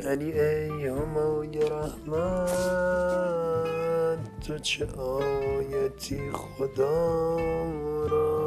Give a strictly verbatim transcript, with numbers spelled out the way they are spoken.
علی ای همای رحمت، تو چه آیتی خدا را